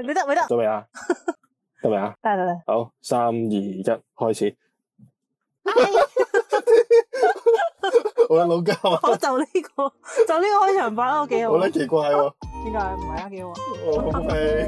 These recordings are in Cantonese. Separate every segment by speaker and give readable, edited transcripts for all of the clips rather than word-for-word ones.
Speaker 1: 你得咪得？
Speaker 2: 得未啊？得未啊？
Speaker 1: 得。
Speaker 2: 好，3、2、1，開始。好啦，老膠啊！
Speaker 1: 我就呢個開場白都幾好。
Speaker 2: 好啦，奇怪喎。
Speaker 1: 點解唔係啊？幾好啊！
Speaker 2: 好味。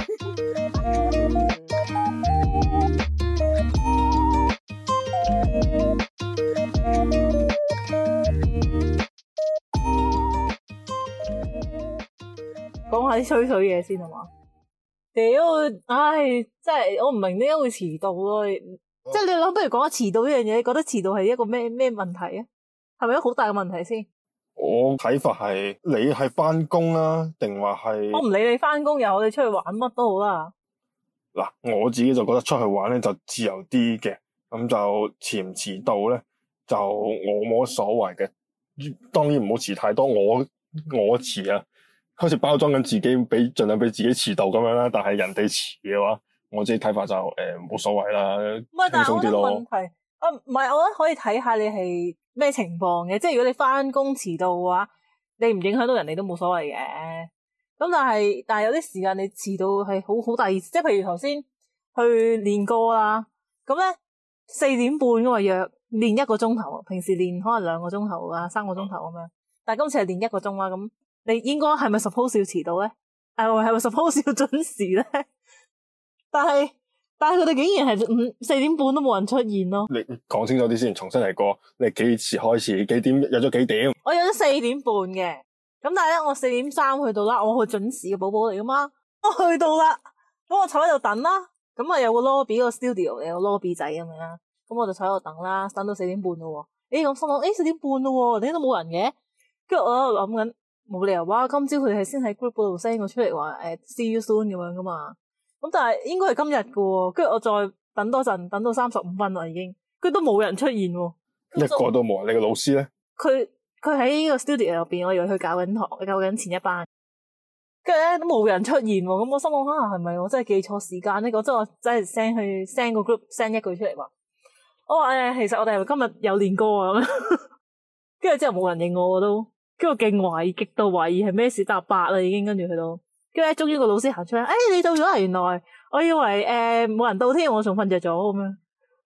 Speaker 1: 講下啲吹水嘢先好嘛？屌，唉，真係我唔明點解會遲到咯。即係你諗，不如講下遲到呢樣嘢，你覺得遲到係一個咩問題啊？係咪一個好大嘅問題先？
Speaker 2: 我睇法係你係翻工啦，定話係
Speaker 1: 我唔理你翻工又好，你出去玩乜都好啦。
Speaker 2: 嗱，我自己就覺得出去玩咧就自由啲嘅，咁就遲唔遲到咧就我冇乜所謂嘅。當然唔好遲太多，我遲啊，開始包裝緊自己，盡量俾自己遲到咁樣啦。但係人哋遲嘅話，我自己睇法就冇所謂啦，輕鬆啲咯。
Speaker 1: 唔係，但係我覺得問題唔係，我覺得可以睇下你係咩情況嘅。即係如果你翻工遲到嘅話，你唔影響到人哋都冇所謂嘅。咁但係有啲時間你遲到係好大意思。即係譬如頭先去練歌啦，咁咧4點半噶嘛，約練1個鐘頭，平時練可能2個鐘頭啊3個鐘頭咁樣，但係今次係練1個鐘啦，咁你應該係咪 suppose 要遲到咧？係咪 suppose 要準時咧？但係佢哋竟然係4點半都冇人出現咯。
Speaker 2: 你講清楚啲先，重新嚟過。你幾時開始？幾點約咗幾點？
Speaker 1: 我約咗4點半嘅，咁但係咧我4點3去到啦，我去準時嘅寶寶嚟噶嘛。我去到啦，咁我坐喺度等啦，咁啊有個 lobby 個 studio 有個 lobby 仔咁樣啦，咁我就坐喺度等啦，等到4點半咯。咁心諗4點半咯，點解都冇人嘅？跟住我喺度諗緊，冇理由哇，今朝佢係先喺 group 嗰度 send 我出嚟話see you soon 咁樣噶嘛。咁但係應該係今日嘅，跟住我再等多陣，等到35分啦已經，佢都冇人出現喎，
Speaker 2: 一個都冇。你個老師咧？
Speaker 1: 佢喺呢個 studio 入邊，我以為佢教緊堂，教緊前一班，跟住咧都冇人出現喎。咁我心諗係咪我真係記錯時間呢？我真係 send 個 group send 一句出嚟話，我話其實我哋係咪今日有練歌啊？咁跟住之後冇人應我都，跟住我勁懷疑，極度懷疑係咩事，搭8啦已經，跟住去到。跟住咧，終於個老師行出嚟，你到咗啦！原來我以為冇人到添，我仲瞓着咗咁樣。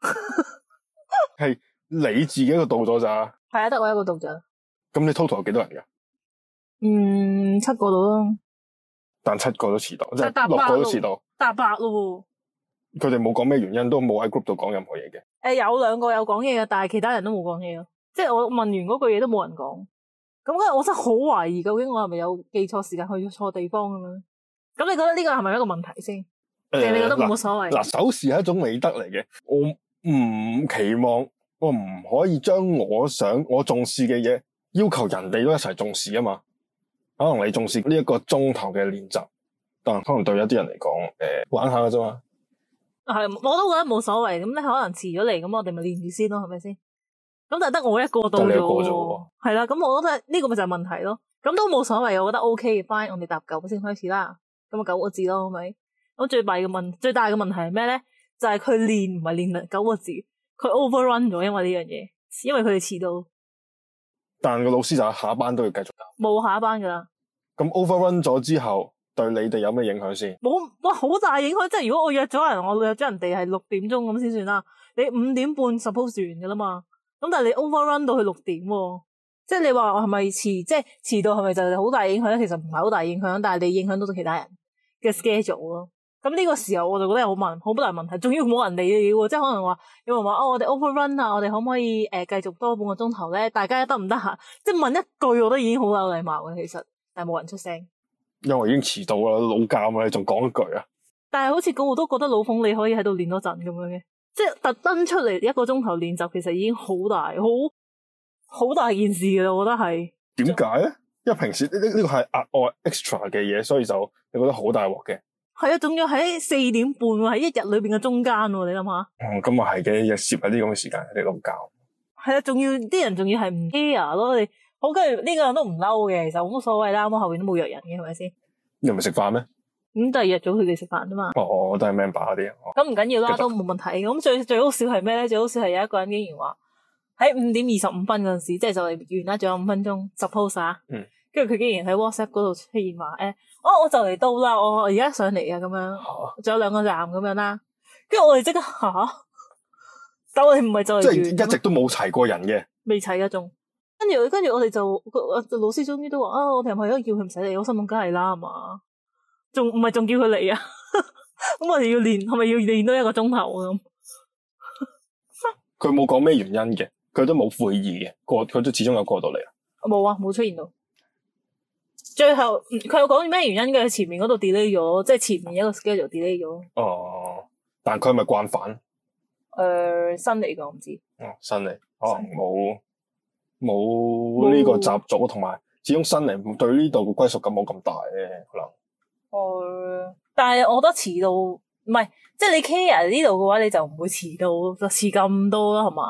Speaker 2: 係你自己一個到咗咋？
Speaker 1: 係啊，得我一個到咋。
Speaker 2: 咁你 total 有幾多人噶
Speaker 1: ？7個到咯。
Speaker 2: 但7個都遲到，即係6個都遲到。
Speaker 1: 搭8咯。
Speaker 2: 佢哋冇講咩原因，都冇喺 group 度講任何嘢嘅。
Speaker 1: 有2個有講嘢嘅，但係其他人都冇講嘢咯。即係我問完嗰句嘢都冇人講。咁我真係好懷疑，究竟我係咪有記錯時間去錯地方咁樣？咁你覺得呢個係咪一個問題先？定你覺得冇所謂？
Speaker 2: 嗱，守時係一種美德嚟嘅。我唔期望，我唔可以將我重視嘅嘢要求人哋都一齊重視啊嘛。可能你重視呢1個鐘頭嘅練習，但可能對有啲人嚟講，玩下㗎啫嘛。
Speaker 1: 係，我都覺得冇所謂。咁你可能遲咗嚟，咁我哋咪練住先咯，係咪先？咁但係得我一個到咗，係啦，咁我覺得呢個咪就係問題咯。咁都冇所謂，我覺得 OK 嘅。翻我哋搭9先開始啦，咁啊9個字咯，係咪？咁最大嘅問題係咩咧？就係佢練唔係練9個字，佢 overrun 咗，因為呢樣嘢，因為佢哋遲到。
Speaker 2: 但個老師就下一班都要繼續教。
Speaker 1: 冇下一班噶啦。
Speaker 2: 咁 overrun 咗之後，對你哋有咩影響先？
Speaker 1: 冇，哇，好大影響！即係如果我約咗人哋係6點鐘咁先算啦，你5點半 suppose 完噶啦嘛。咁但係你 overrun 到去6點喎，即係你話我係咪即係遲到係咪就係好大影響咧？其實唔係好大影響，但係你影響到其他人嘅 schedule 咯。咁呢個時候我就覺得好大問題，仲要冇人理你喎，即係可能話有人話我哋 overrun 啊，我哋可唔可以繼續多半個鐘頭咧？大家得唔得閒？即係問一句，我覺得已經好有禮貌嘅，其實，但係冇人出聲。因
Speaker 2: 為已經遲到啦，老監啊，你仲講一句啊？
Speaker 1: 但係好似個個都覺得老馮你可以喺度練多陣咁樣嘅。即係特登出嚟1個鐘頭練習，其實已經好大件事嘅啦，我覺得係。點
Speaker 2: 解咧？因為平時呢個係額外 extra 嘅嘢，所以就你覺得好大鑊嘅。係啊，
Speaker 1: 仲要喺4點半喎，喺一日裏邊嘅中間喎，你諗下。
Speaker 2: 咁啊係嘅，又攝喺啲咁嘅時間，你老教。
Speaker 1: 係啊，啲人仲要係唔 care 咯，你好跟住呢個人都唔嬲嘅，其實冇乜所謂啦，我後邊都冇約人嘅，係咪先？你唔係食飯咩？咁就係約咗佢哋食飯啫嘛。都係 member 嗰啲。咁唔緊要啦，都冇問題。咁最好笑係咩咧？最好笑係有一個人竟然話喺5點25分嗰陣時，即係就嚟完啦，仲有5分鐘 suppose 啊。跟跟住佢竟然喺 WhatsApp 嗰度出現話我就嚟到啦，我而家上嚟啊咁樣，仲有2個站咁樣啦。跟住我哋即刻但我哋唔係就嚟
Speaker 2: 即係一直都冇齊過人嘅，
Speaker 1: 未齊啊仲。跟住我哋就老師終於都話我哋係咪應該叫佢唔使嚟？我心諗梗係啦，係嘛？仲唔係仲叫佢嚟啊？咁我哋要練，係咪要練多1個鐘頭咁？
Speaker 2: 佢冇講咩原因嘅，佢都冇悔意嘅，佢都始終有過到嚟啊。
Speaker 1: 冇啊，冇出現到。最後佢有講咩原因嘅？前面嗰度 delay 咗，即係前面一個 schedule delay 咗。
Speaker 2: 哦，但佢係咪慣犯？
Speaker 1: 新嚟㗎，我唔知。
Speaker 2: 新嚟，可能冇呢個習俗，同埋始終新嚟對呢度嘅歸屬感冇咁大嘅可能。
Speaker 1: 但係我覺得遲到唔係，即係你 care 呢度嘅話，你就唔會遲到，就遲咁多啦，係嘛？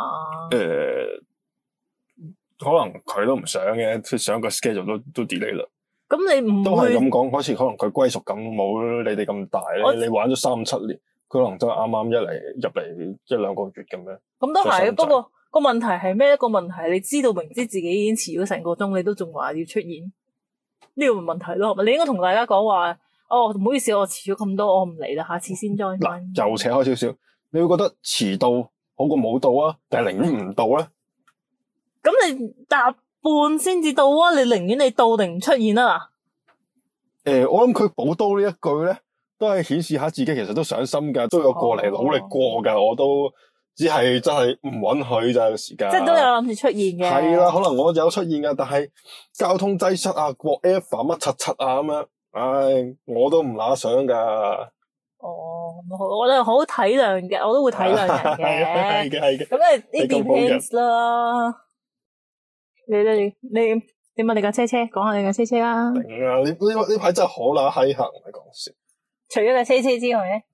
Speaker 2: 可能佢都唔想嘅，佢想個 schedule 都 delay 啦。
Speaker 1: 咁你唔
Speaker 2: 都係咁講，好似可能佢歸屬感冇你哋咁大咧。你玩咗3-7年，佢可能真係啱啱入嚟1-2個月咁樣。
Speaker 1: 咁都係，不過個問題係咩？一個問題，你知道明知自己已經遲咗成個鐘，你都仲話要出現，呢個咪問題咯？係咪？你應該同大家講話，唔好意思，我遲咗咁多，我唔嚟啦，下次先 join 翻。
Speaker 2: 又扯開少少，你會覺得遲到好過冇到啊？定係寧願唔到咧？
Speaker 1: 咁你搭半先至到啊？你寧願你到定唔出現啊？
Speaker 2: 我諗佢補刀呢一句咧，都係顯示下自己其實都上心噶，都有過嚟努力過噶。我都只係真係唔允許咋個時間。即係
Speaker 1: 都有諗住出現嘅。
Speaker 2: 係啦，可能我有出現噶，但係交通擠塞啊，whatever 乜柒啊咁樣，唉，我都唔乸想噶。
Speaker 1: 我哋好體諒嘅，我都會體諒人嘅。
Speaker 2: 係嘅。
Speaker 1: 咁呢 depends 啦。你點啊？你架車講下你架車啦。
Speaker 2: 頂啊！呢排真係好乸閪行，唔係講笑。
Speaker 1: 除咗架車之外咧，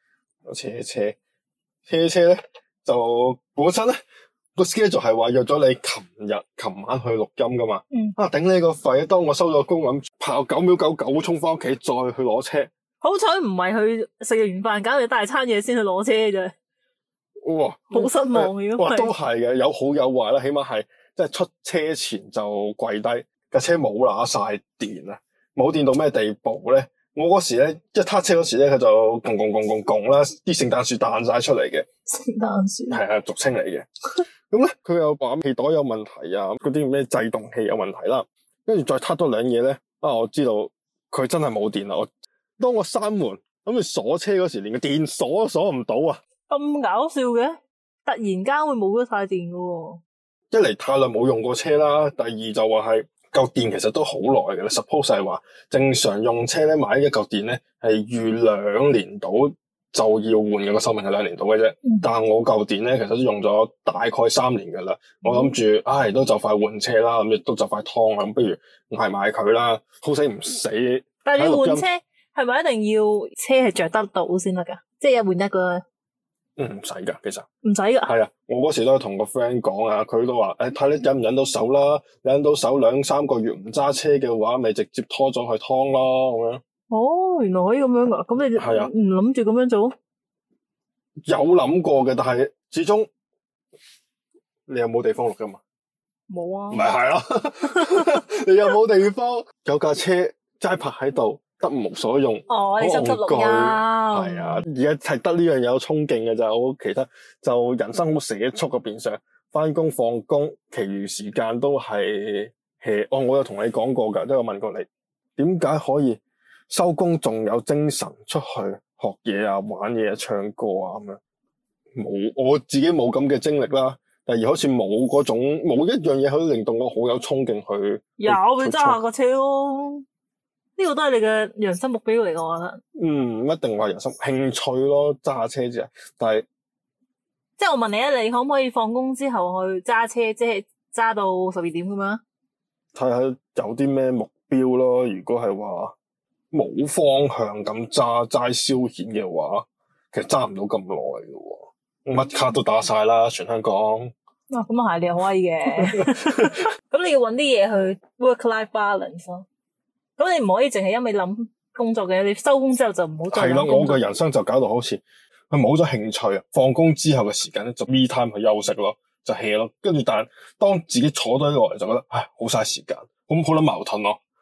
Speaker 2: 車咧就本身咧個 schedule 係話約咗你琴晚去錄音噶嘛。頂你個肺！當我收咗工咁，跑9秒99衝翻屋企，再去攞車。好
Speaker 1: 彩唔係去食完飯搞你大餐嘢先去攞車啫。
Speaker 2: 哇！
Speaker 1: 好失望嘅。
Speaker 2: 哇，都係嘅，有好有壞啦，起碼係。即係出車前就跪低，架車冇乸晒電啊！冇電到咩地步咧？我嗰時咧，一撻車嗰時咧，佢就拱啦，啲聖誕樹彈晒出嚟嘅。聖誕樹係啊，俗稱嚟嘅。咁咧，佢又話氣袋有問題啊，嗰啲咩制動器有問題啦。跟住再撻多2嘢咧，我知道佢真係冇電啦。當我閂門咁佢鎖車嗰時，連個電鎖都鎖唔到啊！咁搞笑嘅，突然間會冇咗晒電噶喎。一嚟太耐冇用過車啦，第二就話係嚿電其實都好耐嘅啦。suppose 係話正常用車咧，買一嚿電咧係預2年到就要換嘅，個壽命係2年到嘅啫。但係我嚿電咧其實都用咗大概3年噶啦。我諗住都就快換車啦，咁亦都就快劏啦，咁不如捱埋佢啦，好死唔死。但係你換車係咪一定要車係着得到先得噶？即係一換一個。唔使噶，其實唔使噶。係啊，我嗰時都同個 friend 講啊，佢都話睇你忍唔忍到手啦，忍到手2-3個月唔揸車嘅話，咪直接拖咗去劏咯咁樣。原來可以咁樣噶，咁你係啊，唔諗住咁樣做？有諗過嘅，但係始終你有冇地方錄噶嘛？冇啊。咪係咯，你有冇地方？有架車齋泊喺度。得無所用，你心急錄音係啊！而家係得呢樣嘢有衝勁嘅咋，我其他就人生好社畜嘅變相，翻工放工，其餘時間都係 hea。我有同你講過噶，都有問過你，點解可以收工仲有精神出去學嘢啊、玩嘢啊、唱歌啊咁樣？冇，我自己冇咁嘅精力啦。第二，好似冇一樣嘢可以令到我好有衝勁去。有，你揸下個車咯。呢個都係你嘅人生目標嚟嘅，我覺得。一定話人生興趣咯，揸下車啫。但係，即係我問你啊，你可唔可以放工之後去揸車，即係揸到12點咁樣？睇下有啲咩目標咯。如果係話冇方向咁齋消遣嘅話，其實揸唔到咁耐嘅。乜卡都打晒啦，全香港。咁啊係，你好威嘅。咁你要搵啲嘢去 work-life balance 咯。咁你唔可以淨係因為諗工作嘅，你收工之後就唔好再諗工作。係啦，我個人生就搞到好似佢冇咗興趣啊！放工之後嘅時間咧，就 me time 去休息咯，就 hea 咯。跟住但係當自己坐低落嚟，就覺得好嘥時間，咁好撚矛盾咯。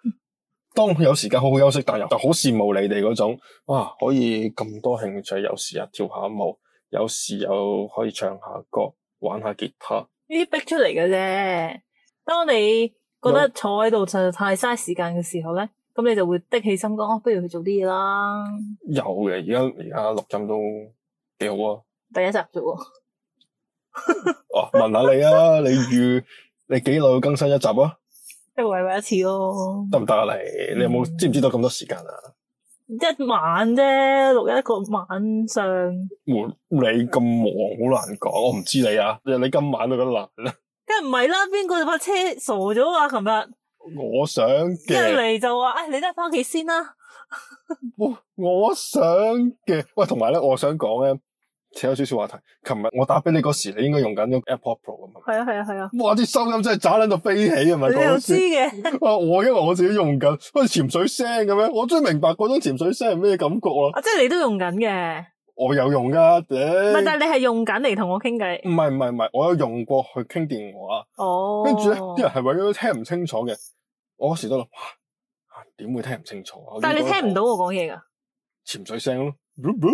Speaker 2: 當有時間好好休息，但又就好羨慕你哋嗰種，哇！可以咁多興趣，有時又跳下舞，有時又可以唱下歌，玩下吉他。
Speaker 1: 呢啲逼出嚟嘅啫。當你覺得坐喺度實在太嘥時間嘅時候咧，咁你就會的起心肝，不如去做啲嘢啦。
Speaker 2: 有嘅，而家錄音都幾好啊！
Speaker 1: 第一集啫喎。
Speaker 2: 哦，問下你啊，你幾耐要更新一集啊？
Speaker 1: 一個禮拜一次咯。
Speaker 2: 得唔得啊？你有冇知唔知道咁多時間啊？
Speaker 1: 一晚啫，錄一個晚上。
Speaker 2: 你咁忙，好難講。我唔知你啊，你今晚都覺得難啦。
Speaker 1: 梗係唔係啦，邊個把車傻咗啊？琴日
Speaker 2: 我想嘅
Speaker 1: 一嚟就話，你都係翻屋企先啦。
Speaker 2: 我想嘅，喂，同埋咧，我想講咧，扯有少少話題。琴日我打俾你嗰時，你應該用緊個 AirPod Pro 啊嘛。
Speaker 1: 係啊係啊係啊。
Speaker 2: 哇！啲收音真係渣撚到飛起啊！咪
Speaker 1: 你又知嘅？
Speaker 2: 哇！我因為我自己用緊，好似潛水聲咁樣，我終於明白嗰種潛水聲係咩感覺啦。
Speaker 1: 啊，即係你都用緊嘅。
Speaker 2: 我有用噶，
Speaker 1: 唔係，但係你係用緊嚟同我傾偈。
Speaker 2: 唔係，我有用過去傾電話。
Speaker 1: 哦。
Speaker 2: 跟住咧，啲人係為咗聽唔清楚嘅。我嗰時都諗，哇，點會聽唔清楚啊？
Speaker 1: 但係你聽唔到我講嘢噶？
Speaker 2: 潛水聲咯。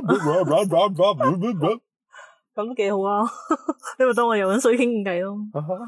Speaker 1: 咁都幾好啊！你咪當我游緊水傾偈咯。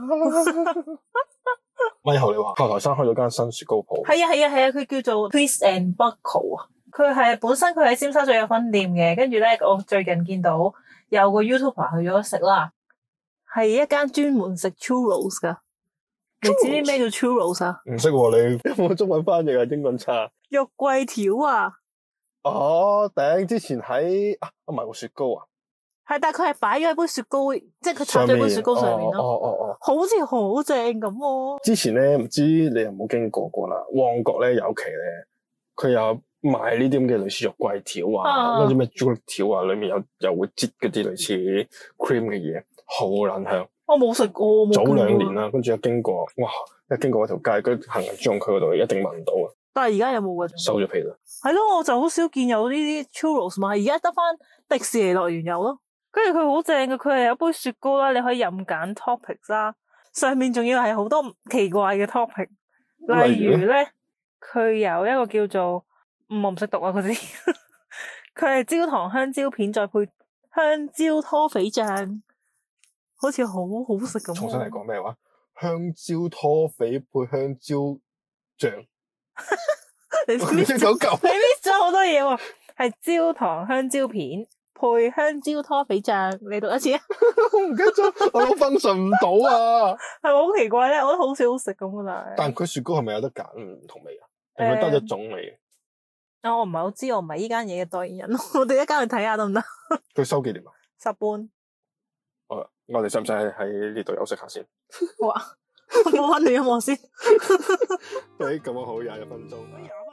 Speaker 2: 咪後你話炮台山開咗間新雪糕鋪。
Speaker 1: 係啊，佢叫做 Twist and Buckle 啊。佢係本身佢喺尖沙咀有分店嘅，跟住咧我最近見到有個 YouTuber 去咗食啦，係一間專門食 churros 噶。你知唔知咩叫 churros 啊？
Speaker 2: 唔識喎，你有冇中文翻譯啊？英文差。
Speaker 1: 肉桂條啊！
Speaker 2: 哦，頂！之前喺唔係個雪糕啊。
Speaker 1: 係，但係佢係擺咗喺杯雪糕，即係佢插咗杯雪糕上面咯。
Speaker 2: 哦，
Speaker 1: 好似好正咁喎。
Speaker 2: 之前咧，唔知你有冇經過啦？旺角咧有期咧，佢有賣呢啲咁嘅類似肉桂條啊，嗰啲咩朱古力條啊，裏面又會擠嗰啲類似 cream 嘅嘢，好撚香。
Speaker 1: 我冇食過，
Speaker 2: 早2年啦，跟住一經過，哇！一經過嗰條街，嗰行人專用區嗰度一定聞到啊。
Speaker 1: 但係而家有冇㗎？
Speaker 2: 收咗皮啦。係
Speaker 1: 咯，我就好少見有呢啲 churros 賣，而家得翻迪士尼樂園有咯。跟住佢好正嘅，佢係有杯雪糕啦，你可以任揀 toppings 啦，上面仲要係好多奇怪嘅 topping， 例如咧，佢有一個叫做我唔識讀啊嗰啲，佢係焦糖香蕉片再配香蕉拖肥醬，好似好好食咁。
Speaker 2: 重新嚟講咩話？香蕉拖肥配香蕉醬。
Speaker 1: 你 miss 咗好多嘢喎，係焦糖香蕉片配香蕉拖肥醬，你讀一次啊！
Speaker 2: 我唔記得咗，我分順唔到啊！
Speaker 1: 係咪好奇怪咧？我覺得好少好食咁噶，
Speaker 2: 但佢雪糕係咪有得揀唔同味啊？定係得一種味？
Speaker 1: 我唔係好知，我唔係呢間嘢嘅代言人，我哋一間去睇下得唔得？
Speaker 2: 佢收幾年啊
Speaker 1: ？10半。
Speaker 2: 好啦，我哋使唔使喺呢度休息下先？
Speaker 1: 好啊，我播翻段音樂先。
Speaker 2: 咁樣好，21分鐘。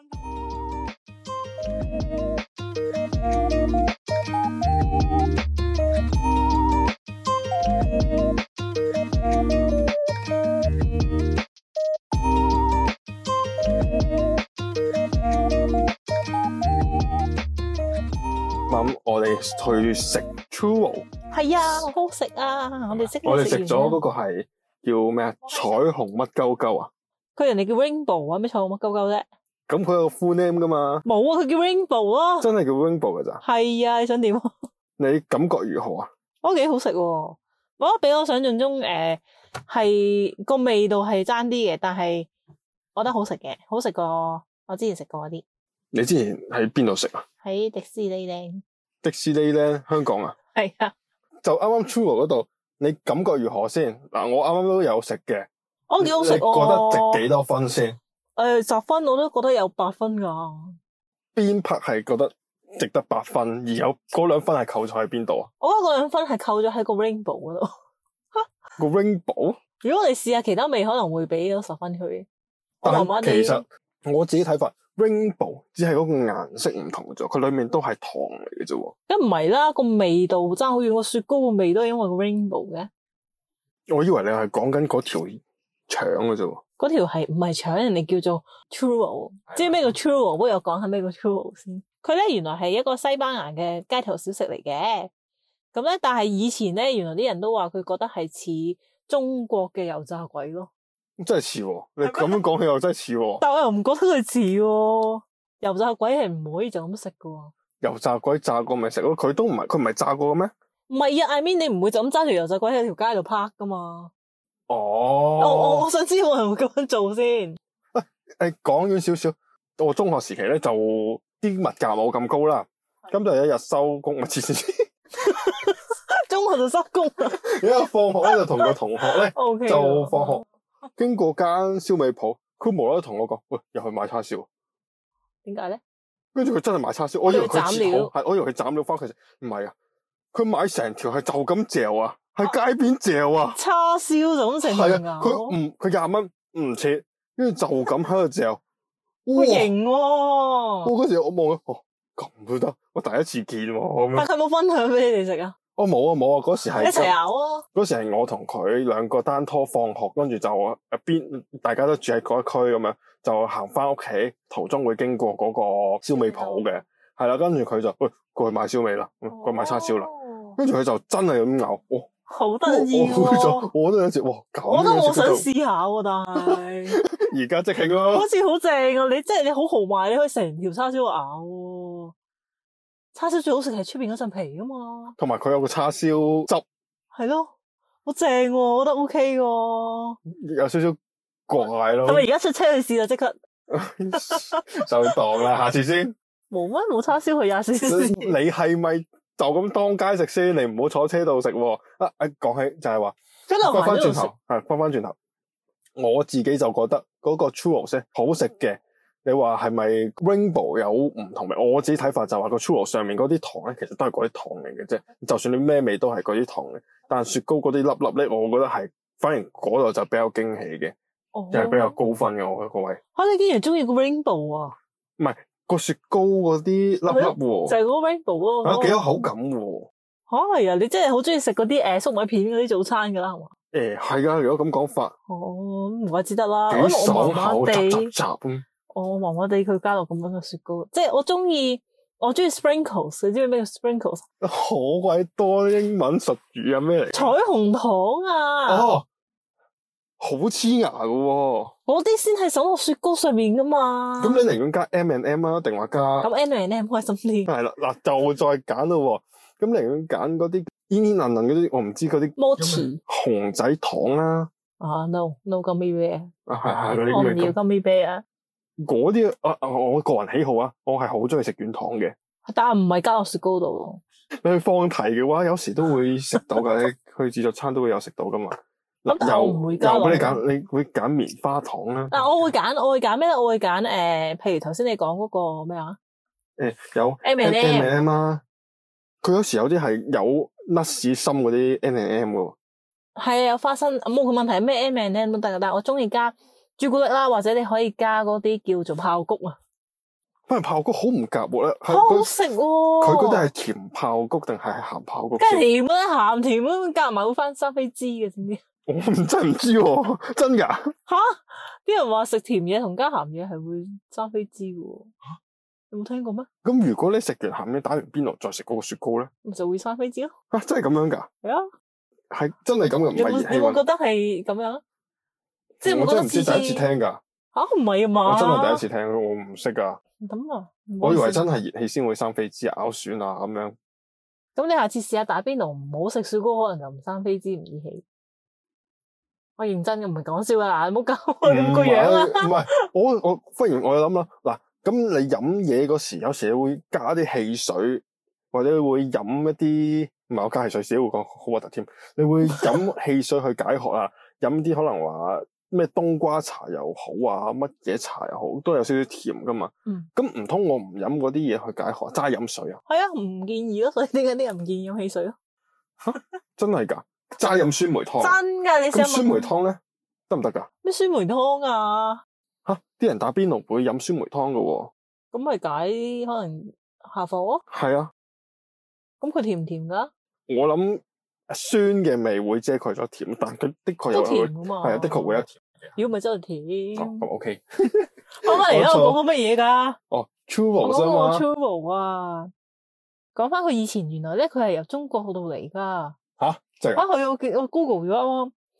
Speaker 2: 咁我哋去食 churro。
Speaker 1: 係啊，好好食啊！我哋
Speaker 2: 食咗嗰個係叫咩啊？彩虹乜鳩鳩啊？
Speaker 1: 佢人哋叫 rainbow 啊，咩彩虹乜鳩鳩啫？
Speaker 2: 咁佢有個 full name 噶嘛？冇
Speaker 1: 啊，佢叫 rainbow 咯。真
Speaker 2: 係叫 rainbow 噶咋？
Speaker 1: 係啊，你想點？
Speaker 2: 你感覺如何啊？
Speaker 1: 我覺得幾好食喎，我覺得比我想象中係個味道係爭啲嘅，但係我覺得好食嘅，好食過我之前食過嗰啲。
Speaker 2: 你之前喺邊度食啊？
Speaker 1: 喺迪士尼咧。
Speaker 2: 迪士尼咧，香港啊？
Speaker 1: 係啊。
Speaker 2: 就啱啱 churro 嗰度，你感覺如何先？嗱，我啱啱都有食嘅。
Speaker 1: 我幾好食。
Speaker 2: 你覺得值幾多分先
Speaker 1: ？10分我都覺得有8分噶。
Speaker 2: 邊 part 係覺得值得8分，而有嗰2分係扣咗喺邊度啊？
Speaker 1: 我覺得嗰2分係扣咗喺個 rainbow 嗰度。
Speaker 2: 個 rainbow？
Speaker 1: 如果我哋試下其他味，可能會俾咗10分佢。
Speaker 2: 但其實我自己睇法。Rainbow 只係嗰個顏色唔同咗，佢裏面都係糖嚟嘅啫。咁
Speaker 1: 唔係啦，個味道爭好遠，個雪糕個味都係因為個 Rainbow 嘅。
Speaker 2: 我以為你係講緊嗰條腸嘅啫。
Speaker 1: 嗰條係唔係腸？人哋叫做 churro，知唔知咩叫 churro？不如我講下咩叫 churro 先。佢咧原來係一個西班牙嘅街頭小食嚟嘅。咁咧，但係以前咧，原來啲人都話佢覺得係似中國嘅油炸鬼咯。
Speaker 2: 真係似喎，你咁樣講起又真係似喎。
Speaker 1: 但我又唔覺得佢似喎，油炸鬼係唔可以就咁食噶喎。
Speaker 2: 油炸鬼炸過咪食咯，佢唔係炸過嘅咩？
Speaker 1: 唔係啊，I mean 你唔會就咁揸條油炸鬼喺條街度拍噶嘛？
Speaker 2: 哦，
Speaker 1: 我想知有冇人會咁樣做先。
Speaker 2: 誒，講遠少少，我中學時期咧就啲物價冇咁高啦，咁就有一日收工，咪黐線，
Speaker 1: 中學就收工啦。
Speaker 2: 有一日放學咧就同個同學咧
Speaker 1: OK
Speaker 2: 就放學經過間燒味鋪，佢無啦啦同我講，喂，入去買叉燒。
Speaker 1: 點解咧？
Speaker 2: 跟住佢真係買叉燒，我以為佢
Speaker 1: 斬料
Speaker 2: 切好，我以為佢斬料翻佢食，唔係啊，佢買成條係就咁嚼啊，喺街邊嚼啊，
Speaker 1: 叉燒就咁成
Speaker 2: 係
Speaker 1: 條
Speaker 2: 啊，佢20蚊唔切，跟住就咁喺度嚼，
Speaker 1: 好型喎！
Speaker 2: 我嗰時我望咗，咁都得，我第一次見喎咁樣。
Speaker 1: 但佢冇分享俾你哋食啊？
Speaker 2: 我冇啊，嗰時係
Speaker 1: 一齊咬啊！
Speaker 2: 嗰時係我同佢兩個單拖放學，跟住就大家都住喺嗰一區咁樣，就行翻屋企，途中會經過嗰個燒味鋪嘅，係啦，跟住佢就喂過去買燒味啦，過去買叉燒啦，跟住佢就真係咁咬，
Speaker 1: 好得意喎！
Speaker 2: 我都有時哇，
Speaker 1: 我覺得我想試下喎，但係
Speaker 2: 而家即興咯，
Speaker 1: 好似好正啊！你好豪邁，你可以成條叉燒咬喎。叉燒最好食係出邊嗰陣皮噶嘛，
Speaker 2: 同埋佢有個叉燒汁，
Speaker 1: 係咯，好正喎，我覺得 OK 喎。
Speaker 2: 有少少怪咯。
Speaker 1: 係咪而家出車去試啦？即刻
Speaker 2: 就當啦，下次先。
Speaker 1: 冇咩冇叉燒去廿四小時。
Speaker 2: 你係咪就咁當街食先？你唔好坐車度食喎。講起就係話，翻翻轉頭，翻翻轉頭，我自己就覺得嗰個 churros 好食嘅。你話係咪 Rainbow 有唔同味？我自己睇法就話個 churros 上面嗰啲糖咧，其實都係嗰啲糖嚟嘅啫。就算你咩味都係嗰啲糖嘅，但係雪糕嗰啲粒粒咧，我覺得係反而嗰度就比較驚喜嘅，就係比較高分嘅。我覺得個位。
Speaker 1: 你竟然中意個 Rainbow 啊？
Speaker 2: 唔係個雪糕嗰啲粒粒喎，
Speaker 1: 就係嗰個 Rainbow 咯。
Speaker 2: 幾有口感喎。
Speaker 1: 係啊，你真係好中意食嗰啲粟米片嗰啲早餐噶啦，係嘛？
Speaker 2: 係噶，如果咁講法，
Speaker 1: 唔怪之得啦。
Speaker 2: 幾爽口，
Speaker 1: 我麻麻地佢加落咁樣嘅雪糕，即係我中意 sprinkles。你知唔知咩叫 sprinkles？
Speaker 2: 好鬼多英文術語啊！咩嚟？
Speaker 1: 彩虹糖啊！
Speaker 2: 好黐牙噶喎！
Speaker 1: 嗰啲先係手落雪糕上面噶嘛。
Speaker 2: 咁你寧願加 M&M 啊，定話加？
Speaker 1: 咁 M&M 開心啲。
Speaker 2: 係啦，嗱就再揀咯。咁寧願揀嗰啲煙煙韌韌嗰啲，我唔知嗰啲。
Speaker 1: Mochi
Speaker 2: 熊仔糖啦。
Speaker 1: No gummy bear。
Speaker 2: 係嗰啲。
Speaker 1: 我唔要 gummy bear。
Speaker 2: 嗰啲我個人喜好啊，我係好中意食軟糖嘅。
Speaker 1: 但係唔係加落雪糕度。
Speaker 2: 你去放題嘅話，有時都會食到噶。你去自助餐都會有食到噶嘛。
Speaker 1: 咁但係我唔會加落。
Speaker 2: 俾你揀，你會揀棉花糖啦。
Speaker 1: 但我會揀咩咧？我會揀譬如頭先你講嗰個咩啊？
Speaker 2: 有 M&M 啊。佢有時有啲係有 nuts 心嗰啲 M&M 噶。
Speaker 1: 係啊，有花生，冇個問題，咩 M&M 都得噶。但係我中意加朱古力啦，或者你可以加嗰啲叫做爆谷啊。
Speaker 2: 反而爆谷好唔夾喎咧，
Speaker 1: 好食喎！
Speaker 2: 佢嗰啲係甜爆谷定係鹹爆谷？
Speaker 1: 梗係甜啦，鹹甜啦，夾埋會翻生飛枝嘅，知唔知？
Speaker 2: 我真唔知喎，真噶？
Speaker 1: 吓，啲人話食甜嘢同加鹹嘢係會生飛枝嘅，有冇聽過咩？
Speaker 2: 咁如果你食完鹹嘢打完邊爐再食嗰個雪糕咧，
Speaker 1: 咪就會生飛枝咯。
Speaker 2: 真係咁樣噶？
Speaker 1: 係啊，
Speaker 2: 係真係咁嘅，唔係熱氣。
Speaker 1: 你有冇覺得係咁樣？即係
Speaker 2: 我真係唔知第一次聽噶。
Speaker 1: 吓，唔係啊嘛？
Speaker 2: 我真係第一次聽，我唔識噶。
Speaker 1: 咁啊？
Speaker 2: 我以為真係熱氣先會生飛枝咬損啊咁樣。
Speaker 1: 咁你下次試下打邊爐，唔好食雪糕，可能就唔生飛枝唔熱氣。我認真嘅，唔係講笑啊！你唔好搞我咁個樣啊！
Speaker 2: 唔係，我忽然我諗啦，嗱，咁你飲嘢嗰時，有時會加啲汽水，或者會飲一啲唔係我加汽水，自己會講好核突添。你會飲汽水去解渴啊？飲啲可能話咩冬瓜茶又好啊，乜嘢茶又好，都有少少甜噶嘛。咁唔通我唔飲嗰啲嘢去解渴，齋飲水啊？係
Speaker 1: 啊，唔建議咯。所以點解啲人唔建議飲汽水咯？
Speaker 2: 真係噶？齋飲酸梅湯？
Speaker 1: 真噶？你試下
Speaker 2: 咁酸梅湯咧得唔得噶？
Speaker 1: 咩酸梅湯啊？
Speaker 2: 啲人打邊爐會飲酸梅湯噶喎。
Speaker 1: 咁咪解可能下火咯？
Speaker 2: 係啊。咁
Speaker 1: 佢甜唔甜噶？
Speaker 2: 我諗酸嘅味會遮蓋咗甜，但佢的確有
Speaker 1: 甜噶嘛。
Speaker 2: 係啊，的確會有甜嘅。
Speaker 1: 如果咪真係甜。
Speaker 2: 咁 OK。
Speaker 1: 翻返嚟啦，我講緊乜嘢噶
Speaker 2: ？Churros 啊嘛。
Speaker 1: Churros 啊，講翻佢以前原來咧，佢係由中國度嚟噶。
Speaker 2: 吓，真係。
Speaker 1: 佢我 Google 咗啊，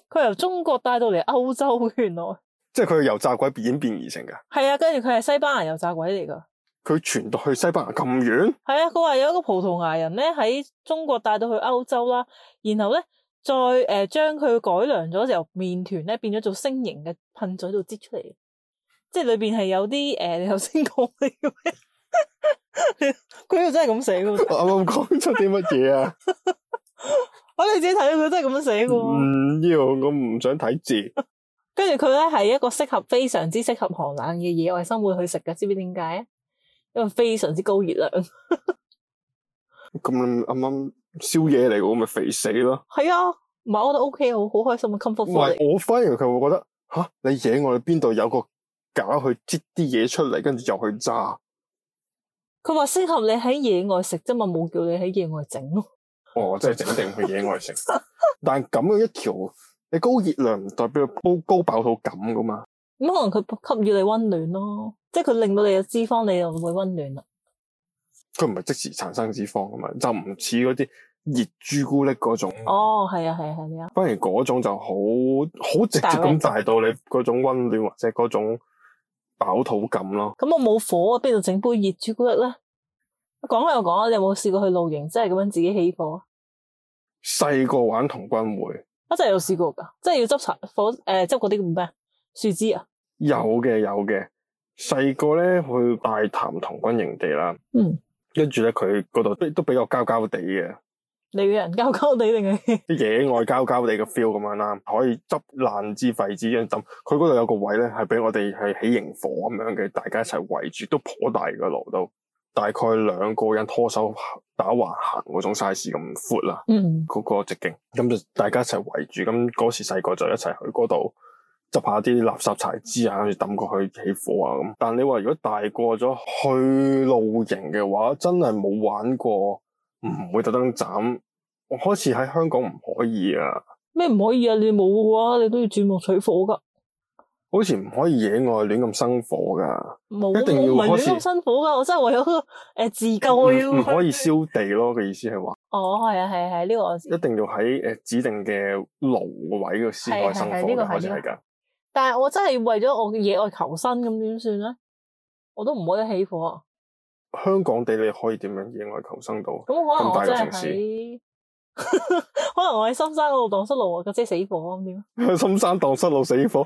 Speaker 1: 佢由中國帶到嚟歐洲，原來
Speaker 2: 即係佢係由炸鬼演變而成㗎。
Speaker 1: 係啊，跟住佢係西班牙油炸鬼嚟噶。
Speaker 2: 佢傳到去西班牙咁遠？
Speaker 1: 係啊，佢話有一個葡萄牙人咧喺中國帶到去歐洲啦，然後咧再將佢改良咗，由麵團咧變咗做星形嘅噴嘴度擠出嚟，即係裏邊係有啲你頭先講嘅咩？佢又真係咁寫嘅。
Speaker 2: 我啱啱講出啲乜嘢啊？
Speaker 1: 我你自己睇到佢真係咁樣寫嘅。
Speaker 2: 唔要，我唔想睇字。
Speaker 1: 跟住佢咧係一個非常之適合寒冷嘅野外生活去食嘅，知唔知點解啊？因為非常之高熱量。
Speaker 2: 咁啱啱宵夜嚟嘅，咪肥死咯。
Speaker 1: 係啊，唔係我覺得 OK，好開心嘅 comfort food 嚟。
Speaker 2: 唔係，我反而佢會覺得吓，你野外邊度有個架去擠啲嘢出嚟，跟住又去炸。
Speaker 1: 佢話適合你喺野外食啫嘛，冇叫你喺野外整咯。
Speaker 2: 哦，即係整定去野外食。但係咁樣一條，你高熱量唔代表高飽到咁噶嘛？
Speaker 1: 咁可能佢給予你溫暖咯，即係佢令到你嘅脂肪你就會溫暖啦。
Speaker 2: 佢唔係即時產生脂肪噶嘛，就唔似嗰啲熱朱古力嗰種。
Speaker 1: 哦，係啊，係啊，係啊。
Speaker 2: 反而嗰種就好直接咁帶到你嗰種溫暖或者嗰種飽肚感咯。
Speaker 1: 咁我冇火啊，邊度整杯熱朱古力咧？講開又講啊，你有冇試過去露營，即係咁樣自己起火？
Speaker 2: 細個玩童軍會，
Speaker 1: 我真係有試過噶，即係要執柴火執嗰啲叫咩樹枝啊？
Speaker 2: 有嘅。細個咧去大潭童軍營地啦，跟住咧佢嗰度都比較膠膠地嘅。
Speaker 1: 你嘅人膠膠地定係
Speaker 2: 啲野外膠膠地嘅 feel 咁樣啦，可以執爛支廢紙咁抌。佢嗰度有個位咧，係俾我哋係起營火咁樣嘅，大家一齊圍住，都頗大個爐都，大概2個人拖手打橫行嗰種 size 咁闊啦。嗰個直徑，咁就大家一齊圍住。咁嗰時細個就一齊去嗰度執下啲垃圾柴枝啊，跟住抌過去起火啊咁。但你話如果大個咗去露營嘅話，真係冇玩過，唔會特登斬。我開始喺香港唔可以啊。
Speaker 1: 咩唔可以啊？你冇嘅話，你都要鑽木取火噶。
Speaker 2: 好似唔可以野外亂咁生火噶，
Speaker 1: 冇，
Speaker 2: 一定要
Speaker 1: 唔係亂咁生火噶。我真係為咗自救要。
Speaker 2: 唔可以燒地咯，嘅意思係話。
Speaker 1: 哦，係啊，係呢個我知。
Speaker 2: 一定要喺指定嘅爐位嘅先可以生火嘅，好似係噶。
Speaker 1: 但係我真係為咗我嘅野外求生，咁點算咧？我都唔可以起火啊。
Speaker 2: 香港地你可以點樣野外求生到？
Speaker 1: 咁可能
Speaker 2: 咁大
Speaker 1: 我真係
Speaker 2: 個城市，
Speaker 1: 可能我喺深山嗰度蕩失路啊，架車死火咁點？
Speaker 2: 深山蕩失路死火，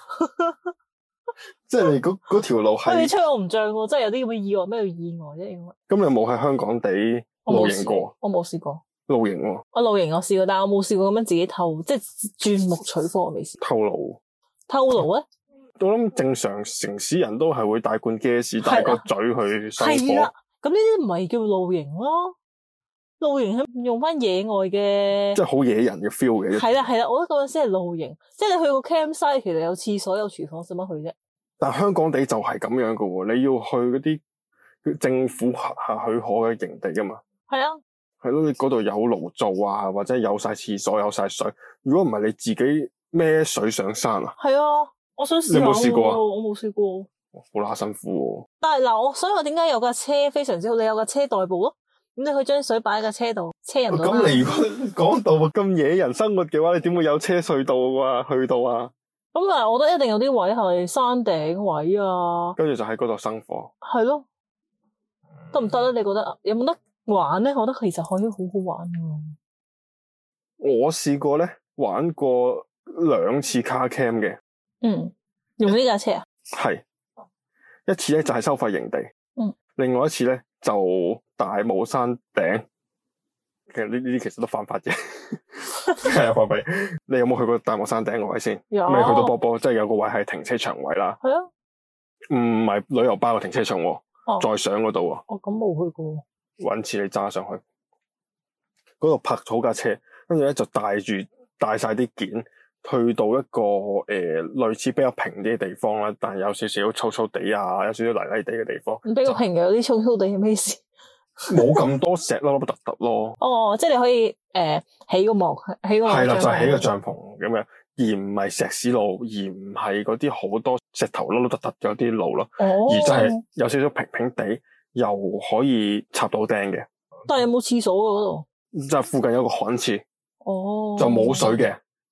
Speaker 2: 即係你嗰條路係。
Speaker 1: 你吹我唔脹喎，真係有啲咁嘅意外，咩叫意外啫？應該。
Speaker 2: 咁你有冇喺香港地露營過？
Speaker 1: 我冇試過。
Speaker 2: 露營喎。
Speaker 1: 我露營我試過，但係我冇試過咁樣自己偷，即係鑽木取火，我未試過。
Speaker 2: 偷爐？
Speaker 1: 偷爐咧？
Speaker 2: 我諗正常城市人都係會帶罐 gas 帶個嘴去生火。
Speaker 1: 係啦，咁呢啲唔係叫露營咯。露營係用翻野外嘅，
Speaker 2: 即係好野人嘅 feel 嘅。
Speaker 1: 係啦，我覺得嗰陣先係露營，即係你去個 campsite，其實有廁所有廚房，使乜去啫？
Speaker 2: 但香港地就係咁樣噶喎，你要去嗰啲政府許可嘅營地噶嘛？
Speaker 1: 係啊，
Speaker 2: 係咯，你嗰度有爐灶啊，或者有晒廁所，有晒水。如果唔係你自己孭水上山啊？
Speaker 1: 係啊，我想試下。
Speaker 2: 你有冇試過啊？
Speaker 1: 我冇試過。
Speaker 2: 好啦，辛苦喎。
Speaker 1: 但係嗱，所以我點解有架車非常之好？你有架車代步咯，咁你可以將水擺喺架車度，車人到。
Speaker 2: 咁你如果講到咁野人生活嘅話，你點會有車隧道啊？去到啊？
Speaker 1: 咁但係我覺得一定有啲位係山頂位啊，
Speaker 2: 跟住就喺嗰度生火。
Speaker 1: 係咯，得唔得咧？你覺得有冇得玩咧？我覺得其實可以好好玩㗎。
Speaker 2: 我試過咧，玩過2次 car cam 嘅。
Speaker 1: 用呢架車啊？
Speaker 2: 係一次咧就係收費營地。另外一次咧就大帽山頂。其實呢啲其實都犯法嘅。係啊，寶貝，你有冇去過大帽山頂個位先？
Speaker 1: 有。
Speaker 2: 未去到波波，即係有個位係停車場位啦。
Speaker 1: 係啊。
Speaker 2: 唔係旅遊巴嘅停車場喎。再上嗰度喎。
Speaker 1: 咁冇去過。
Speaker 2: 搵次你揸上去，嗰度泊好架車，跟住咧就帶晒啲件，去到一個類似比較平啲嘅地方啦，但係有少少粗粗地啊，有少少泥泥地嘅地方。
Speaker 1: 比較平嘅有啲粗粗地係咩事？
Speaker 2: 冇咁多石粒粒突突咯。
Speaker 1: 哦，即係你可以起個幕，起個
Speaker 2: 係啦，就係起個帳篷咁樣，而唔係石屎路，而唔係嗰啲好多石頭粒粒突突嗰啲路咯。而就係有少少平平地，又可以插到釘嘅。
Speaker 1: 但係有冇廁所嘅嗰度？
Speaker 2: 就係附近有個旱廁。
Speaker 1: 哦。
Speaker 2: 就冇水嘅，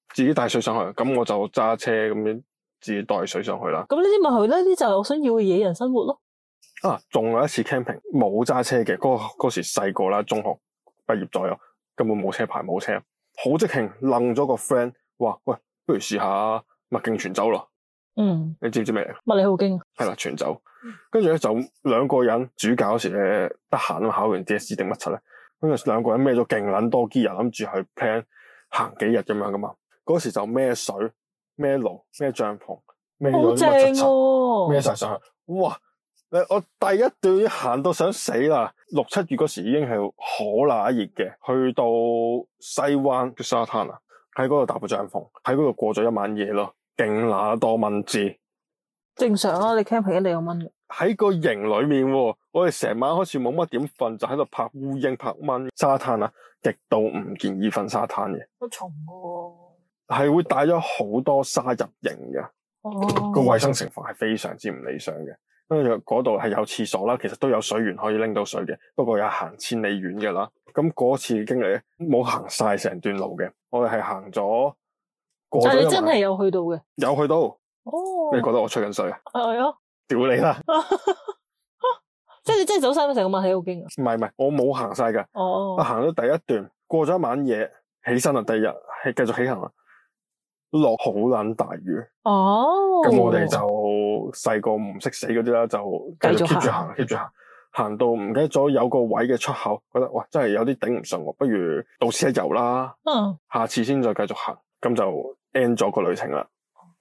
Speaker 2: 自己帶水上去，咁我就揸車咁樣自己帶水上去啦。
Speaker 1: 咁呢啲咪係呢啲就係我想要嘅野人生活咯。
Speaker 2: 啊，仲有一次 camping 冇揸車嘅，嗰時細個啦，中學畢業左右，根本冇車牌冇車，好即興楞咗個 friend 話喂，不如試下麥徑全走咯。你知唔知咩嚟？
Speaker 1: 麥理浩徑
Speaker 2: 係啦，全走。跟住咧就兩個人，暑假嗰時咧得閒啊，考完 DSE 定乜柒咧，跟住兩個人孭咗勁撚多 gear，諗住去 plan 行幾日咁樣噶嘛。嗰時就孭水、孭爐、孭帳篷、孭咗啲乜柒柒，孭晒上去。哇！我第一段已經行到想死啦，6、7月嗰時已經係好乸熱嘅，去到西灣嘅沙灘啊，喺嗰度搭個帳篷，喺嗰度過咗一晚夜咯，勁乸多蚊滋。正
Speaker 1: 常啊，你 camping 一定有蚊嘅。
Speaker 2: 喺個營裏面，我哋成晚好似冇乜點瞓，就喺度拍烏蠅、拍蚊。沙灘啊，極度唔建議瞓沙灘嘅。
Speaker 1: 好重喎。
Speaker 2: 係會帶咗好多沙入營嘅。個衛生情況係非常之唔理想嘅。跟住嗰度係有廁所啦，其實都有水源可以拎到水嘅，不過有行千里遠嘅啦。咁嗰次經歷咧，冇行晒成段路嘅，我哋係行咗過咗。但係你
Speaker 1: 真係有去到嘅？
Speaker 2: 有去到。你覺得我吹緊水啊？
Speaker 1: 係啊。
Speaker 2: 屌你啦！
Speaker 1: 即係你真係走晒成個麥理浩徑啊？
Speaker 2: 唔係，我冇行晒㗎。我行咗第一段，過咗一晚夜，起身啦，第二日係繼續起行啦。落好撚大雨。咁我哋就細個唔識死嗰啲啦，就繼續 keep 住行 ，keep 住行，行到唔記得咗有個位嘅出口，覺得哇真係有啲頂唔順喎，不如到此一遊啦。下次先再繼續行，咁就 end 咗個旅程啦。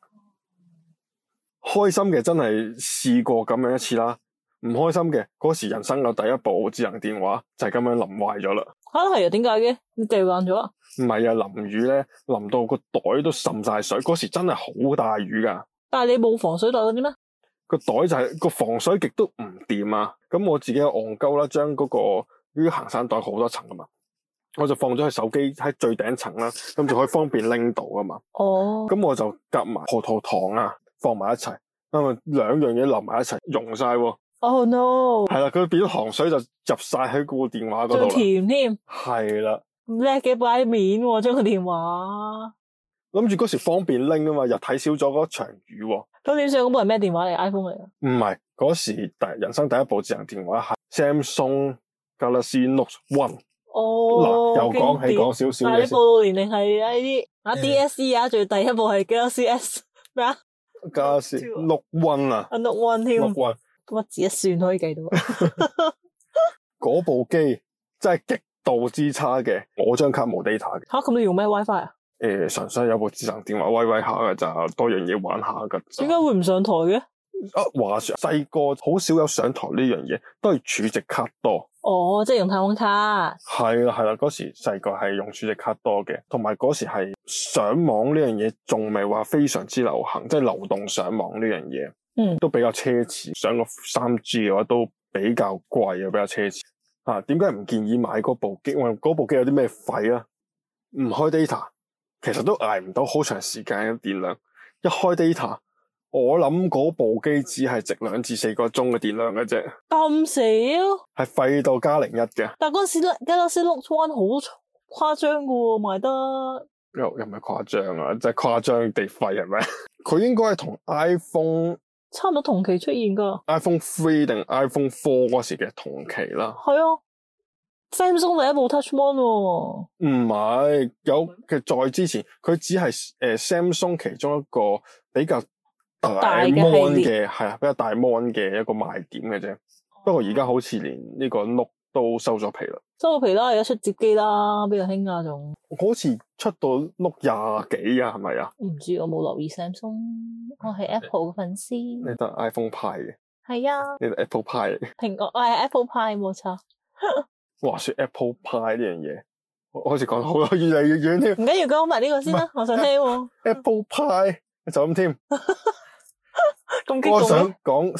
Speaker 2: 開心嘅真係試過咁樣一次啦，唔開心嘅嗰時人生嘅第一部智能電話就係咁樣淋壞咗啦。係啊，點解嘅？你掉爛咗啊？唔係啊，淋雨咧淋到個袋都滲晒水，嗰時真係好大雨噶。但係你冇防水袋嗰啲咩？個袋就係個防水極都唔掂啊！咁我自己戇鳩啦，將嗰個呢啲行山袋好多層噶嘛，我就放咗佢手機喺最頂層啦，咁就可以方便拎到噶嘛。咁我就夾埋葡萄糖啊，放埋一齊，因為兩樣嘢淋埋一齊溶晒喎。no！ 係啦，佢變咗糖水就入晒喺個電話嗰度啦。仲甜添。係啦。叻嘅擺面喎，將個電話。諗住嗰時方便拎啊嘛，又睇少咗嗰場雨喎。咁點算？嗰部係咩電話嚟 ？iPhone 嚟啊？唔係，嗰時人生第一部智能電話係 Samsung Galaxy Note One。嗱，又講少少嘅。但係你報道年齡係呢啲DSE 啊，仲第一部係 Galaxy S 咩啊 ？Galaxy Note One 啊。Note One 添。Note One。咁一字一算可以計到。嗰部機真係極度之差嘅，我張卡冇 data 嘅。咁你用咩 WiFi 啊？純粹有部智能電話威下嘅咋，多樣嘢玩下噶。點解會唔上台嘅？話說細個好少有上台呢樣嘢，都係儲值卡多。即係用太空卡。係啦，嗰時細個係用儲值卡多嘅，同埋嗰時係上網呢樣嘢仲未話非常之流行，即係流動上網呢樣嘢。都比較奢侈，上個 3G 嘅話都比較貴啊，比較奢侈。點解唔建議買嗰部機？因為嗰部機有啲咩廢啊？唔開 data， 其實都捱唔到好長時間嘅電量。一開 data， 我諗嗰部機只係值2至4個鐘嘅電量嘅啫。咁少？係廢到加01嘅。但嗰時 Galaxy Note One 好誇張噶喎，賣得。又唔係誇張啊，即係誇張地廢係咪？佢應該係同 iPhone 差唔多同期出現噶。iPhone 3定 iPhone 4嗰時嘅同期啦。係啊 ，Samsung 第一部 Touch Mon 喎。唔係，其實再之前，佢只係Samsung 其中一個比較大 mon 嘅，係啊，比較大 mon 嘅一個賣點嘅啫。不過而家好似連呢個 Note 都收咗皮啦。收咗皮啦，而家出摺機啦，比較興啊仲。好似出到 Note 20幾啊，係咪啊？唔知，我冇留意 Samsung， 我係 Apple 嘅粉絲。你得 iPhone 派嘅？係啊。你得 Apple 派嘅？蘋果，我係 Apple 派，冇錯。話說 Apple 派呢樣嘢，我好似講好越嚟越遠添。唔緊要，講埋呢個先啦，我想聽。Apple 派就咁添。我想講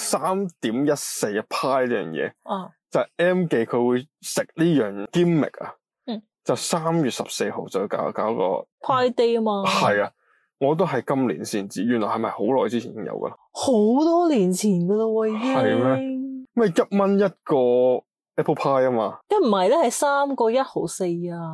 Speaker 2: 3.14派呢樣嘢。就係 M 記佢會食呢樣 gimmick 啊，就3月14號就搞個派 day 啊嘛。係啊，我都係今年先知，原來係咪好耐之前已經有噶啦？好多年前噶啦喎，已經。係咩？咩1蚊一個 Apple Pie 啊嘛？一唔係咧，係3個1毫4啊。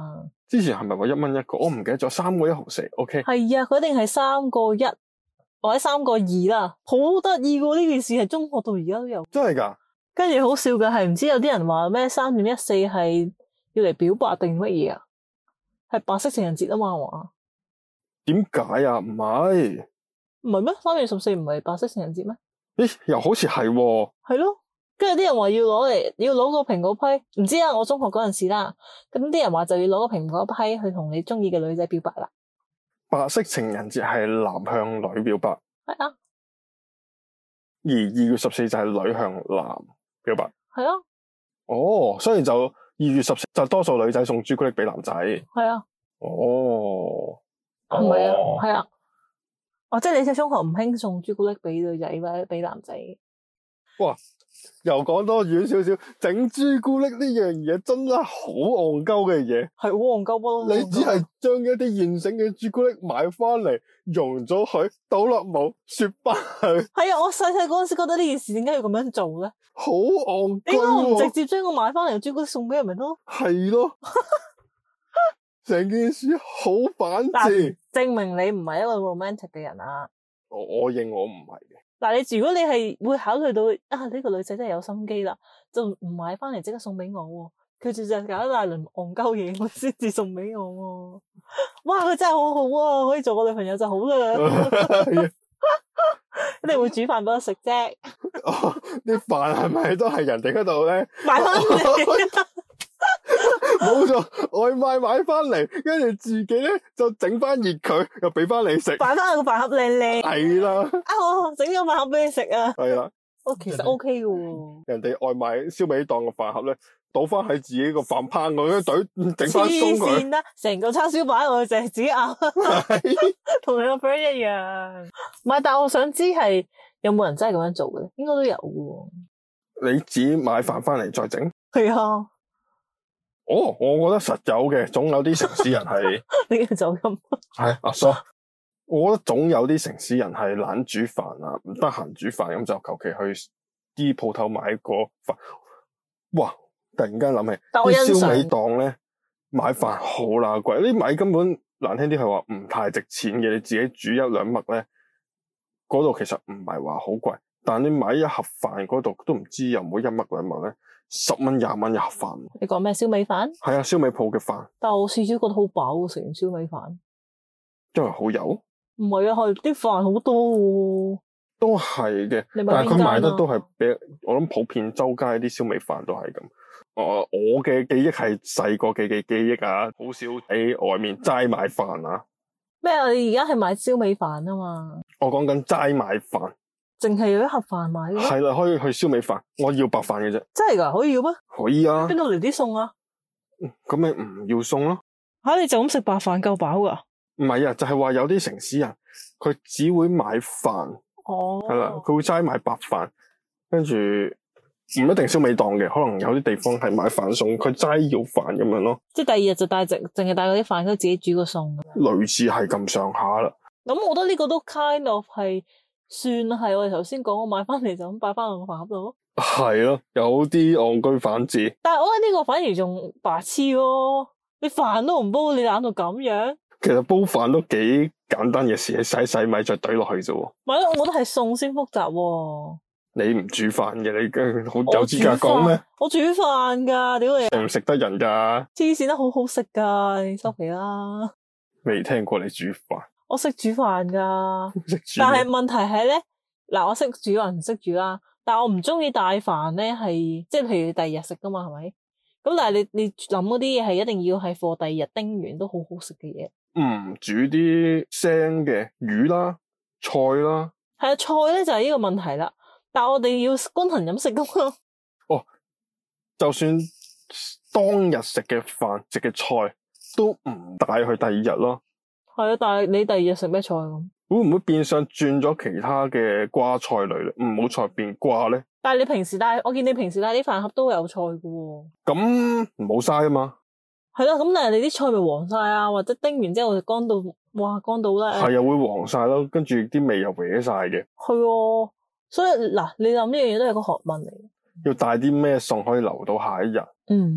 Speaker 2: 之前係咪話1蚊一個？我唔記得咗，3個1毫4。OK。
Speaker 1: 係啊，佢一定係3個1或者3個2啦，好得意喎！呢件事係中學到而家都有。
Speaker 2: 真係㗎？
Speaker 1: 跟住好笑嘅係，唔知有啲人話咩3.14係要嚟表白定乜嘢啊？係白色情人節啊嘛，係嘛？
Speaker 2: 點解啊？唔係。
Speaker 1: 唔係咩？3月14唔係白色情人節咩？
Speaker 2: 咦，又好似係喎。
Speaker 1: 係咯，跟住啲人話要攞個蘋果批，唔知啊，我中學嗰陣時啦，咁啲人話就要攞個蘋果批去同你中意嘅女仔表白啦。
Speaker 2: 白色情人節係男向女表白，
Speaker 1: 係啊，
Speaker 2: 而2月14就係女向男表白。
Speaker 1: 係啊，
Speaker 2: 哦，所以就2月14就多數女仔送朱古力俾男仔。
Speaker 1: 係啊，
Speaker 2: 哦，
Speaker 1: 係咪啊？係啊，哦，即係你喺中學唔興送朱古力俾女仔或者俾男仔。
Speaker 2: 哇！又講多遠少少，整朱古力呢樣嘢真係好戇鳩嘅嘢，
Speaker 1: 係好戇鳩咯。
Speaker 2: 你只係將一啲現成嘅朱古力買翻嚟，溶咗佢，倒落冇，雪翻佢。
Speaker 1: 係啊，我細細嗰陣時覺得呢件事點解要咁樣做咧？
Speaker 2: 好戇鳩。
Speaker 1: 點解我唔直接將我買翻嚟嘅朱古力送俾人咪得咯？
Speaker 2: 係咯，成件事好反智。
Speaker 1: 證明你唔係一個 romantic 嘅人啊！
Speaker 2: 我認我唔係嘅。
Speaker 1: 嗱，如果你係會考慮到啊呢個女仔真係有心機啦，就唔買翻嚟即刻送俾我喎，佢就搞一大輪戇鳩嘢，我先至送俾我喎。哇，佢真係好好啊，可以做我女朋友就好啦。一定會煮飯俾我食啫。
Speaker 2: 啲飯係咪都係人哋嗰度咧
Speaker 1: 買翻嚟？
Speaker 2: 冇錯，外賣買翻嚟，跟住自己咧就整翻熱佢，又俾翻你食。
Speaker 1: 擺翻個飯盒靚靚。
Speaker 2: 係啦。
Speaker 1: 啊，我整咗飯盒俾你食啊。
Speaker 2: 係啦。
Speaker 1: 哦，其實 OK 嘅喎。
Speaker 2: 人哋外賣燒味檔個飯盒咧，倒翻喺自己個飯烹嗰啲隊，整翻鬆佢。
Speaker 1: 黐線啦，成個叉燒擺我就係自己咬，同你個 friend 一樣。唔係，但係我想知係有冇人真係咁樣做嘅？應該都有嘅。
Speaker 2: 你自己買飯翻嚟再整？
Speaker 1: 係啊。
Speaker 2: 哦，我覺得實有嘅，總有啲城市人係
Speaker 1: 呢個就咁。
Speaker 2: 係阿叔，我覺得總有啲城市人係懶煮飯啊，唔得閒煮飯，咁就求其去啲鋪頭買個飯。哇！突然間諗起啲燒味檔咧買飯好乸貴，啲米根本難聽啲係話唔太值錢嘅，你自己煮1-2麥咧，嗰度其實唔係話好貴，但你買一盒飯嗰度都唔知有冇1麥2麥咧。10蚊20蚊一盒飯。
Speaker 1: 你講咩燒味飯？
Speaker 2: 係啊，燒味鋪嘅飯。
Speaker 1: 但係我試咗覺得好飽喎，食完燒味飯。
Speaker 2: 因為好油？
Speaker 1: 唔係啊，係啲飯好多喎。
Speaker 2: 都係嘅，但係佢賣得都係比我諗普遍周街啲燒味飯都係咁。我嘅記憶係細個嘅記憶啊，好少喺外面齋買飯啊。
Speaker 1: 咩啊？你而家係買燒味飯啊嘛？我
Speaker 2: 講緊齋買飯。淨
Speaker 1: 係有一盒飯買嘅？
Speaker 2: 係啦，可以去燒味飯，我要白飯嘅啫。
Speaker 1: 真係噶？可以嘅咩？
Speaker 2: 可以啊。邊
Speaker 1: 度嚟啲餸啊？
Speaker 2: 咁咪唔要餸咯。
Speaker 1: 吓，你就咁食白飯夠飽噶？
Speaker 2: 唔係啊，就係話有啲城市人佢只會買飯。哦。係啦，佢會齋買白飯，跟住唔一定燒味檔嘅，可能有啲地方係買飯餸，佢齋要飯咁樣咯。即係第二日就淨係帶嗰啲飯，佢自己煮個餸。類似係咁上下啦。咁我覺得呢個都 kind of 係。算係我哋頭先講，我買翻嚟就咁擺翻落個飯盒度咯。係咯，有啲戇居反智。但係我覺得呢個反而仲白痴咯。你飯都唔煲，你懶到咁樣。其實煲飯都幾簡單嘅事，洗米再懟落去啫。唔係咯，我覺得係餸先複雜。你唔煮飯嘅，你好有資格講咩？我煮飯噶，屌你！食唔食得人噶？黐線得好好食噶，你收皮啦。未聽過你煮飯。我識煮飯噶，但係問題係咧，嗱，我識煮還唔識煮啦。但係我唔中意帶飯咧，係即係譬如第二日食噶嘛，係咪？咁但係你諗嗰啲嘢係一定要係for第二日叮完都好好食嘅嘢。煮啲生嘅魚啦、菜啦。係啊，菜咧就係呢個問題啦。但係我哋要均衡飲食噶嘛。哦，就算當日食嘅飯、食嘅菜都唔帶去第二日咯。係啊，但係你第二日食咩菜咁？會唔會變相轉咗其他嘅瓜菜類咧？唔好菜變瓜咧？但係你平時帶，我見你平時帶啲飯盒都有菜㗎喎。咁唔好嘥啊嘛。係啦，咁但係你啲菜咪黃晒啊，或者叮完之後就乾到，哇，乾到咧。係啊，會黃晒咯，跟住啲味又歪晒嘅。係啊，所以嗱，你諗呢樣嘢都係個學問嚟。要帶啲咩餸可以留到下一日？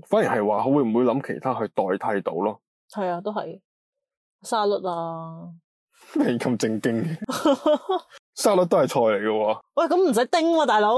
Speaker 2: 反而係話會唔會諗其他去代替到咯？
Speaker 1: 係啊，都係沙律啊。
Speaker 2: 你咁正經嘅，沙律都係菜嚟嘅喎。
Speaker 1: 喂，咁唔使叮喎，大佬。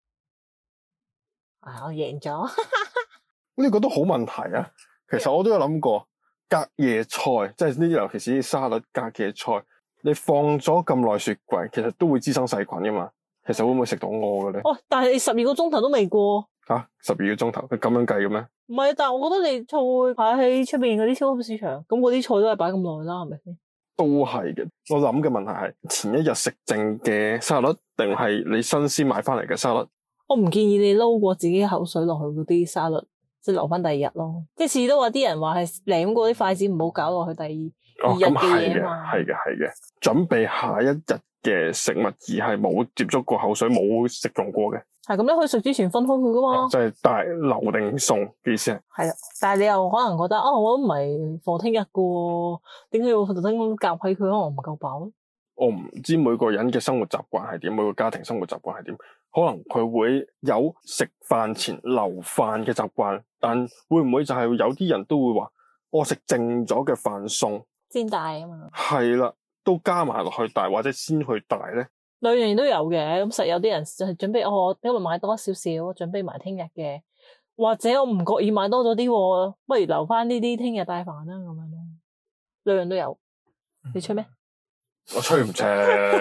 Speaker 1: 我贏咗。
Speaker 2: 呢個都好問題啊！其實我都有諗過，隔夜菜即係呢啲，尤其是啲沙律隔夜菜，你放咗咁耐雪櫃，其實都會滋生細菌噶嘛。其實會唔會食到我嘅咧？
Speaker 1: 哦，但係你12個鐘頭都未過。
Speaker 2: 嚇，12個鐘頭，佢咁樣計嘅咩？
Speaker 1: 唔係，但係我覺得你菜會擺喺出邊嗰啲超級市場，咁嗰啲菜都係擺咁耐啦，係咪先？
Speaker 2: 都係嘅。我諗嘅問題係前一日食剩嘅沙律，定係你新鮮買翻嚟嘅沙律？
Speaker 1: 我唔建議你撈過自己口水落去嗰啲沙律，即係留翻第二日咯。即係次次都話啲人話係舐過啲筷子唔好搞落去第二日嘅嘢嘛。
Speaker 2: 係嘅。準備下一日嘅食物而係冇接觸過口水、冇食用過嘅。係
Speaker 1: 咁，你可以食之前分開佢噶嘛。
Speaker 2: 即係大留定餸嘅意思係。
Speaker 1: 係啦，但係你又可能覺得我都唔係放聽日嘅喎，點解要特登咁夾喺佢？可能唔夠飽咧。
Speaker 2: 我唔知每個人嘅生活習慣係點，每個家庭生活習慣係點，可能佢會有食飯前留飯嘅習慣，但會唔會就係有啲人都會話，我食剩咗嘅飯餸
Speaker 1: 先帶啊嘛？
Speaker 2: 係啦，都加埋落去帶，或者先去帶咧？
Speaker 1: 兩樣都有嘅，咁實有啲人就係準備我今日買多少少，準備埋聽日嘅，或者我唔覺意買多咗啲，不如留翻呢啲聽日帶飯啦咁樣咯。兩樣都有，你吹咩？
Speaker 2: 我吹唔正。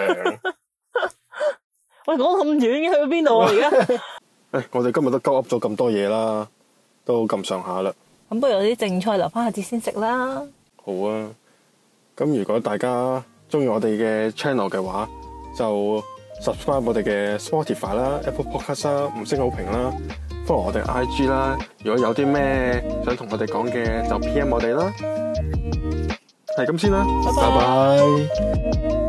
Speaker 1: 喂，講咁遠嘅，去到邊度啊？而家
Speaker 2: 我哋今日都鳩噏咗咁多嘢啦，都咁上下啦。
Speaker 1: 咁不如有啲剩菜留翻下節先食啦。
Speaker 2: 好啊，咁如果大家中意我哋嘅 channel 嘅話，就 subscribe 我哋嘅 Spotify 啦、Apple Podcast 啦、5星好評啦 ，follow 我哋 IG 啦。如果有啲咩想同我哋講嘅，就 PM 我哋啦。係咁先啦，拜拜。